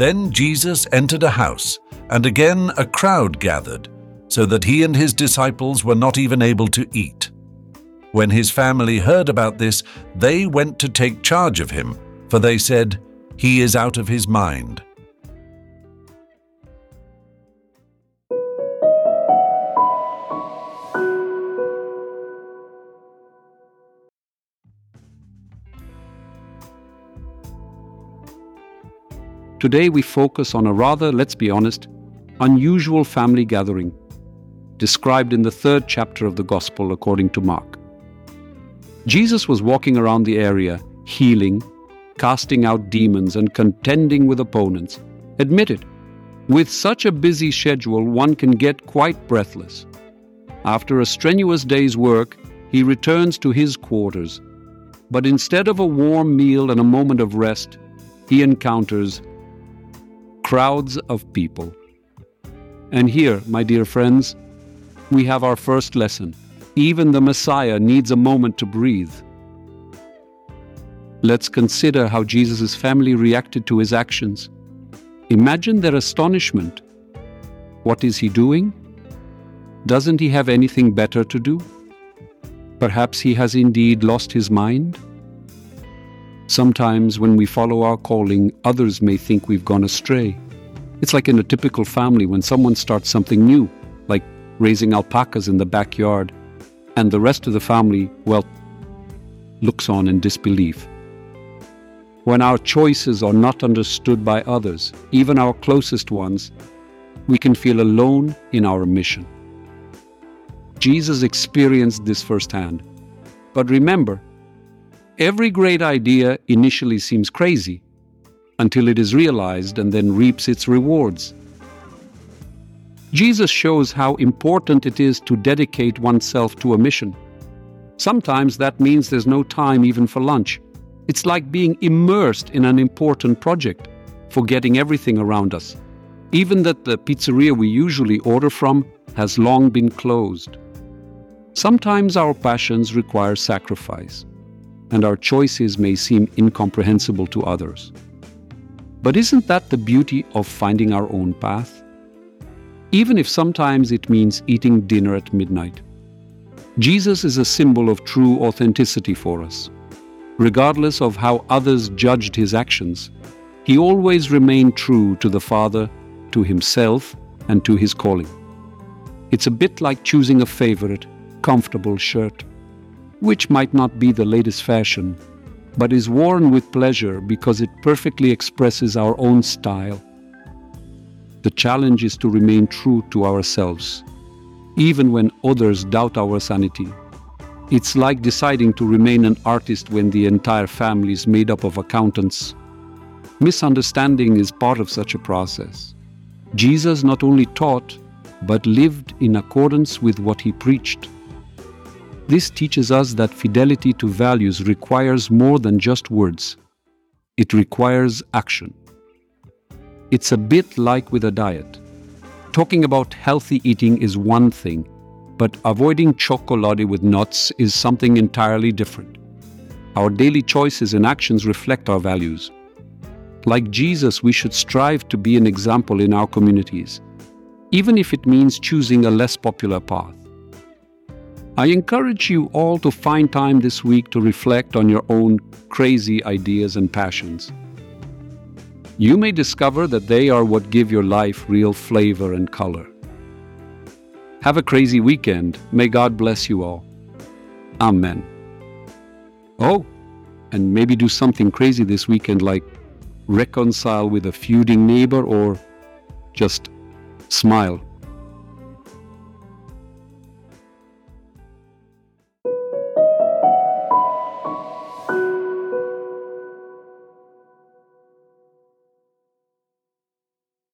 Then Jesus entered a house, and again a crowd gathered, so that he and his disciples were not even able to eat. When his family heard about this, they went to take charge of him, for they said, "He is out of his mind." Today we focus on a rather, let's be honest, unusual family gathering, described in the 3rd chapter of the Gospel according to Mark. Jesus was walking around the area, healing, casting out demons, and contending with opponents. Admit it, with such a busy schedule, one can get quite breathless. After a strenuous day's work, he returns to his quarters. But instead of a warm meal and a moment of rest, he encounters crowds of people. And here, my dear friends, we have our first lesson. Even the Messiah needs a moment to breathe. Let's consider how Jesus' family reacted to his actions. Imagine their astonishment. What is he doing? Doesn't he have anything better to do? Perhaps he has indeed lost his mind? Sometimes when we follow our calling, others may think we've gone astray. It's like in a typical family when someone starts something new, like raising alpacas in the backyard, and the rest of the family, well, looks on in disbelief. When our choices are not understood by others, even our closest ones, we can feel alone in our mission. Jesus experienced this firsthand. But remember, every great idea initially seems crazy until it is realized and then reaps its rewards. Jesus shows how important it is to dedicate oneself to a mission. Sometimes that means there's no time even for lunch. It's like being immersed in an important project, forgetting everything around us. Even that the pizzeria we usually order from has long been closed. Sometimes our passions require sacrifice, and our choices may seem incomprehensible to others. But isn't that the beauty of finding our own path? Even if sometimes it means eating dinner at midnight. Jesus is a symbol of true authenticity for us. Regardless of how others judged his actions, he always remained true to the Father, to himself, and to his calling. It's a bit like choosing a favorite, comfortable shirt, which might not be the latest fashion, but is worn with pleasure because it perfectly expresses our own style. The challenge is to remain true to ourselves, even when others doubt our sanity. It's like deciding to remain an artist when the entire family is made up of accountants. Misunderstanding is part of such a process. Jesus not only taught, but lived in accordance with what he preached. This teaches us that fidelity to values requires more than just words. It requires action. It's a bit like with a diet. Talking about healthy eating is one thing, but avoiding chocolate with nuts is something entirely different. Our daily choices and actions reflect our values. Like Jesus, we should strive to be an example in our communities, even if it means choosing a less popular path. I encourage you all to find time this week to reflect on your own crazy ideas and passions. You may discover that they are what give your life real flavor and color. Have a crazy weekend. May God bless you all. Amen. Oh, and maybe do something crazy this weekend like reconcile with a feuding neighbor or just smile